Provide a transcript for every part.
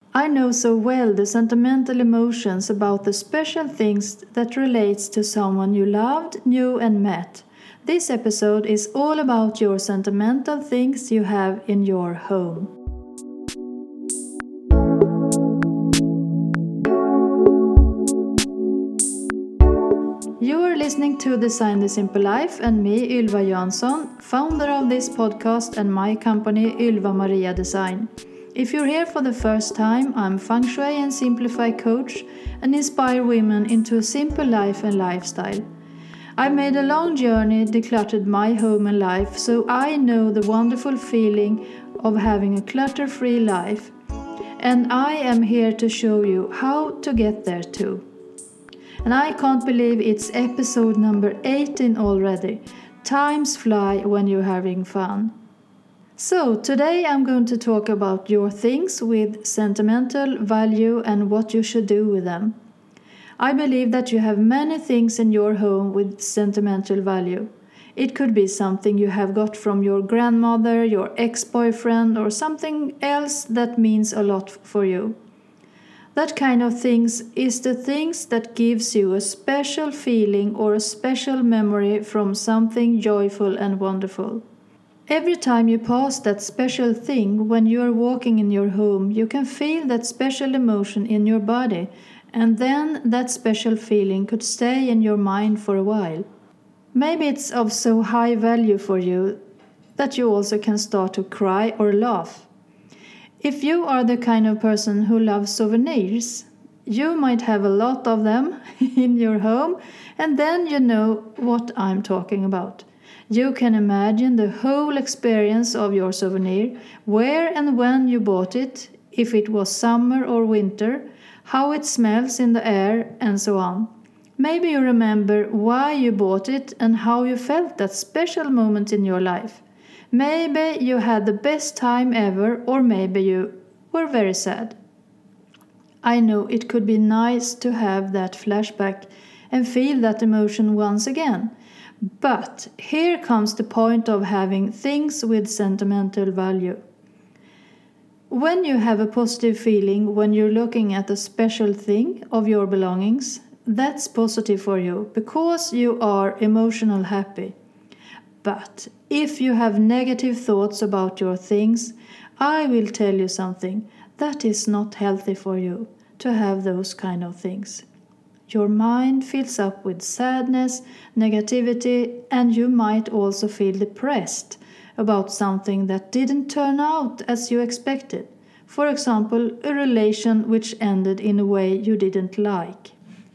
I know so well the sentimental emotions about the special things that relates to someone you loved, knew and met. This episode is all about your sentimental things you have in your home. You are listening to Design the Simple Life and me, Ylva Jansson, founder of this podcast and my company Ylva Maria Design. If you're here for the first time, I'm Feng Shui and Simplify coach and inspire women into a simple life and lifestyle. I've made a long journey, decluttered my home and life, so I know the wonderful feeling of having a clutter-free life. And I am here to show you how to get there too. And I can't believe it's episode number 18 already. Times fly when you're having fun. So today I'm going to talk about your things with sentimental value and what you should do with them. I believe that you have many things in your home with sentimental value. It could be something you have got from your grandmother, your ex-boyfriend, or something else that means a lot for you. That kind of things is the things that gives you a special feeling or a special memory from something joyful and wonderful. Every time you pass that special thing when you are walking in your home, you can feel that special emotion in your body, and then that special feeling could stay in your mind for a while. Maybe it's of so high value for you that you also can start to cry or laugh. If you are the kind of person who loves souvenirs, you might have a lot of them in your home, and then you know what I'm talking about. You can imagine the whole experience of your souvenir, where and when you bought it, if it was summer or winter, how it smells in the air, and so on. Maybe you remember why you bought it and how you felt that special moment in your life. Maybe you had the best time ever, or maybe you were very sad. I know it could be nice to have that flashback and feel that emotion once again. But here comes the point of having things with sentimental value. When you have a positive feeling when you're looking at a special thing of your belongings, that's positive for you because you are emotional happy. But if you have negative thoughts about your things, I will tell you something, that is not healthy for you to have those kind of things. Your mind fills up with sadness, negativity, and you might also feel depressed about something that didn't turn out as you expected. For example, a relation which ended in a way you didn't like.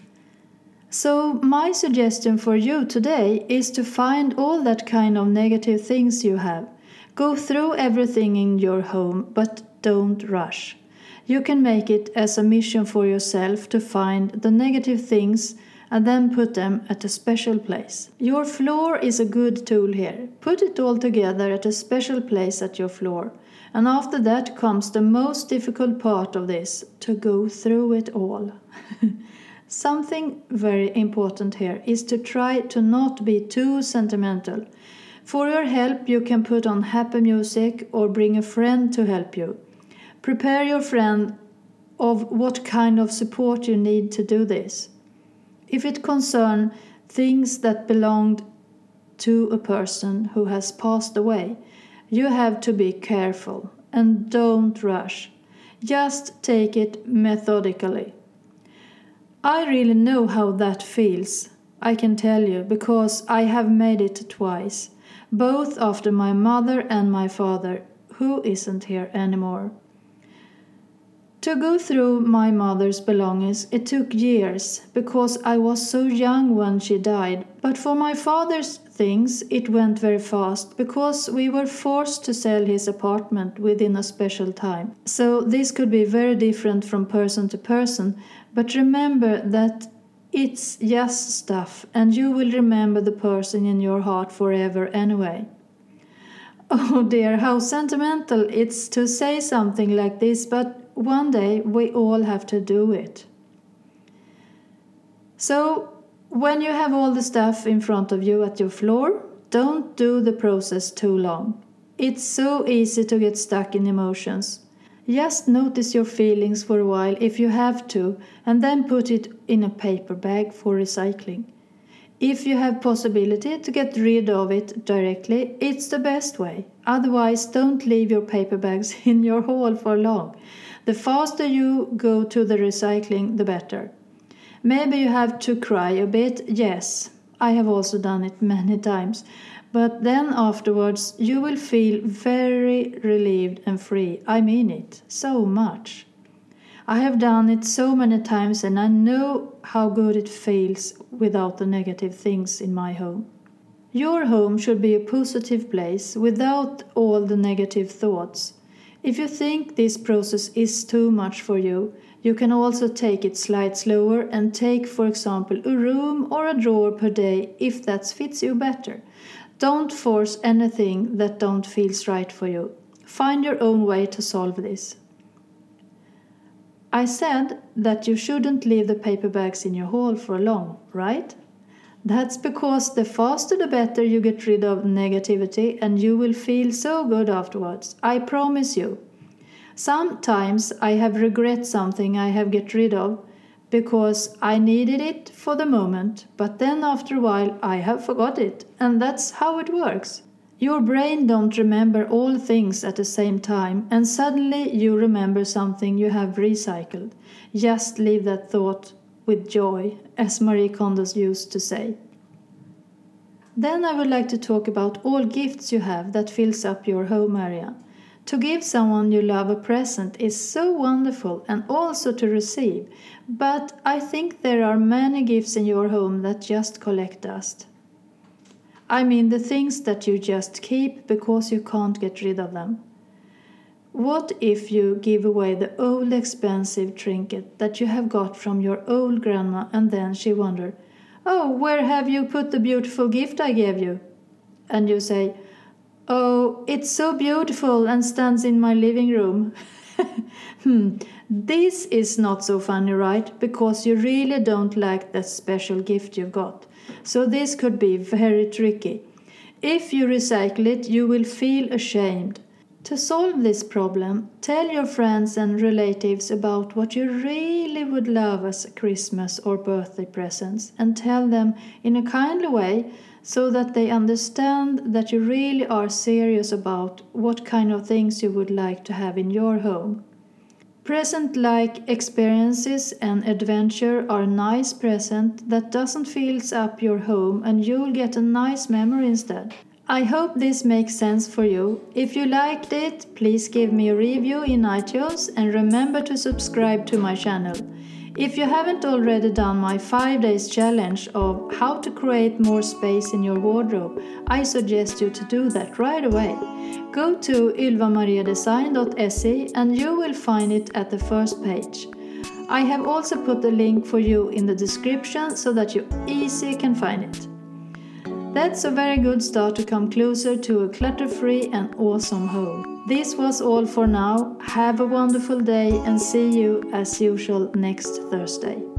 So my suggestion for you today is to find all that kind of negative things you have. Go through everything in your home, but don't rush. You can make it as a mission for yourself to find the negative things and then put them at a special place. Your floor is a good tool here. Put it all together at a special place at your floor. And after that comes the most difficult part of this, to go through it all. Something very important here is to try to not be too sentimental. For your help, you can put on happy music or bring a friend to help you. Prepare your friend of what kind of support you need to do this. If it concerns things that belonged to a person who has passed away, you have to be careful and don't rush. Just take it methodically. I really know how that feels, I can tell you, because I have made it twice, both after my mother and my father, who isn't here anymore. To go through my mother's belongings, it took years, because I was so young when she died. But for my father's things, it went very fast, because we were forced to sell his apartment within a special time. So this could be very different from person to person, but remember that it's just stuff, and you will remember the person in your heart forever anyway. Oh dear, how sentimental it's to say something like this, but one day we all have to do it. So, when you have all the stuff in front of you at your floor, don't do the process too long. It's so easy to get stuck in emotions. Just notice your feelings for a while if you have to, and then put it in a paper bag for recycling. If you have possibility to get rid of it directly, it's the best way. Otherwise, don't leave your paper bags in your hall for long. The faster you go to the recycling, the better. Maybe you have to cry a bit, yes. I have also done it many times. But then afterwards, you will feel very relieved and free. I mean it, so much. I have done it so many times and I know how good it feels without the negative things in my home. Your home should be a positive place without all the negative thoughts. If you think this process is too much for you, you can also take it slightly slower and take, for example, a room or a drawer per day if that fits you better. Don't force anything that don't feel right for you. Find your own way to solve this. I said that you shouldn't leave the paper bags in your hall for long, right? That's because the faster the better you get rid of negativity and you will feel so good afterwards. I promise you. Sometimes I have regret something I have get rid of because I needed it for the moment, but then after a while I have forgot it, and that's how it works. Your brain don't remember all things at the same time, and suddenly you remember something you have recycled. Just leave that thought with joy, as Marie Kondo used to say. Then I would like to talk about all gifts you have that fills up your home area. To give someone you love a present is so wonderful, and also to receive, but I think there are many gifts in your home that just collect dust. I mean the things that you just keep because you can't get rid of them. What if you give away the old expensive trinket that you have got from your old grandma and then she wondered, "Oh, where have you put the beautiful gift I gave you?" And you say, "Oh, it's so beautiful and stands in my living room." This is not so funny, right? Because you really don't like that special gift you got. So this could be very tricky. If you recycle it, you will feel ashamed. To solve this problem, tell your friends and relatives about what you really would love as Christmas or birthday presents, and tell them in a kindly way so that they understand that you really are serious about what kind of things you would like to have in your home. Present-like experiences and adventure are a nice present that doesn't fill up your home, and you'll get a nice memory instead. I hope this makes sense for you. If you liked it, please give me a review in iTunes and remember to subscribe to my channel. If you haven't already done my 5 days challenge of how to create more space in your wardrobe, I suggest you to do that right away. Go to ylvamariadesign.se and you will find it at the first page. I have also put the link for you in the description so that you easily can find it. That's a very good start to come closer to a clutter-free and awesome home. This was all for now. Have a wonderful day and see you as usual next Thursday.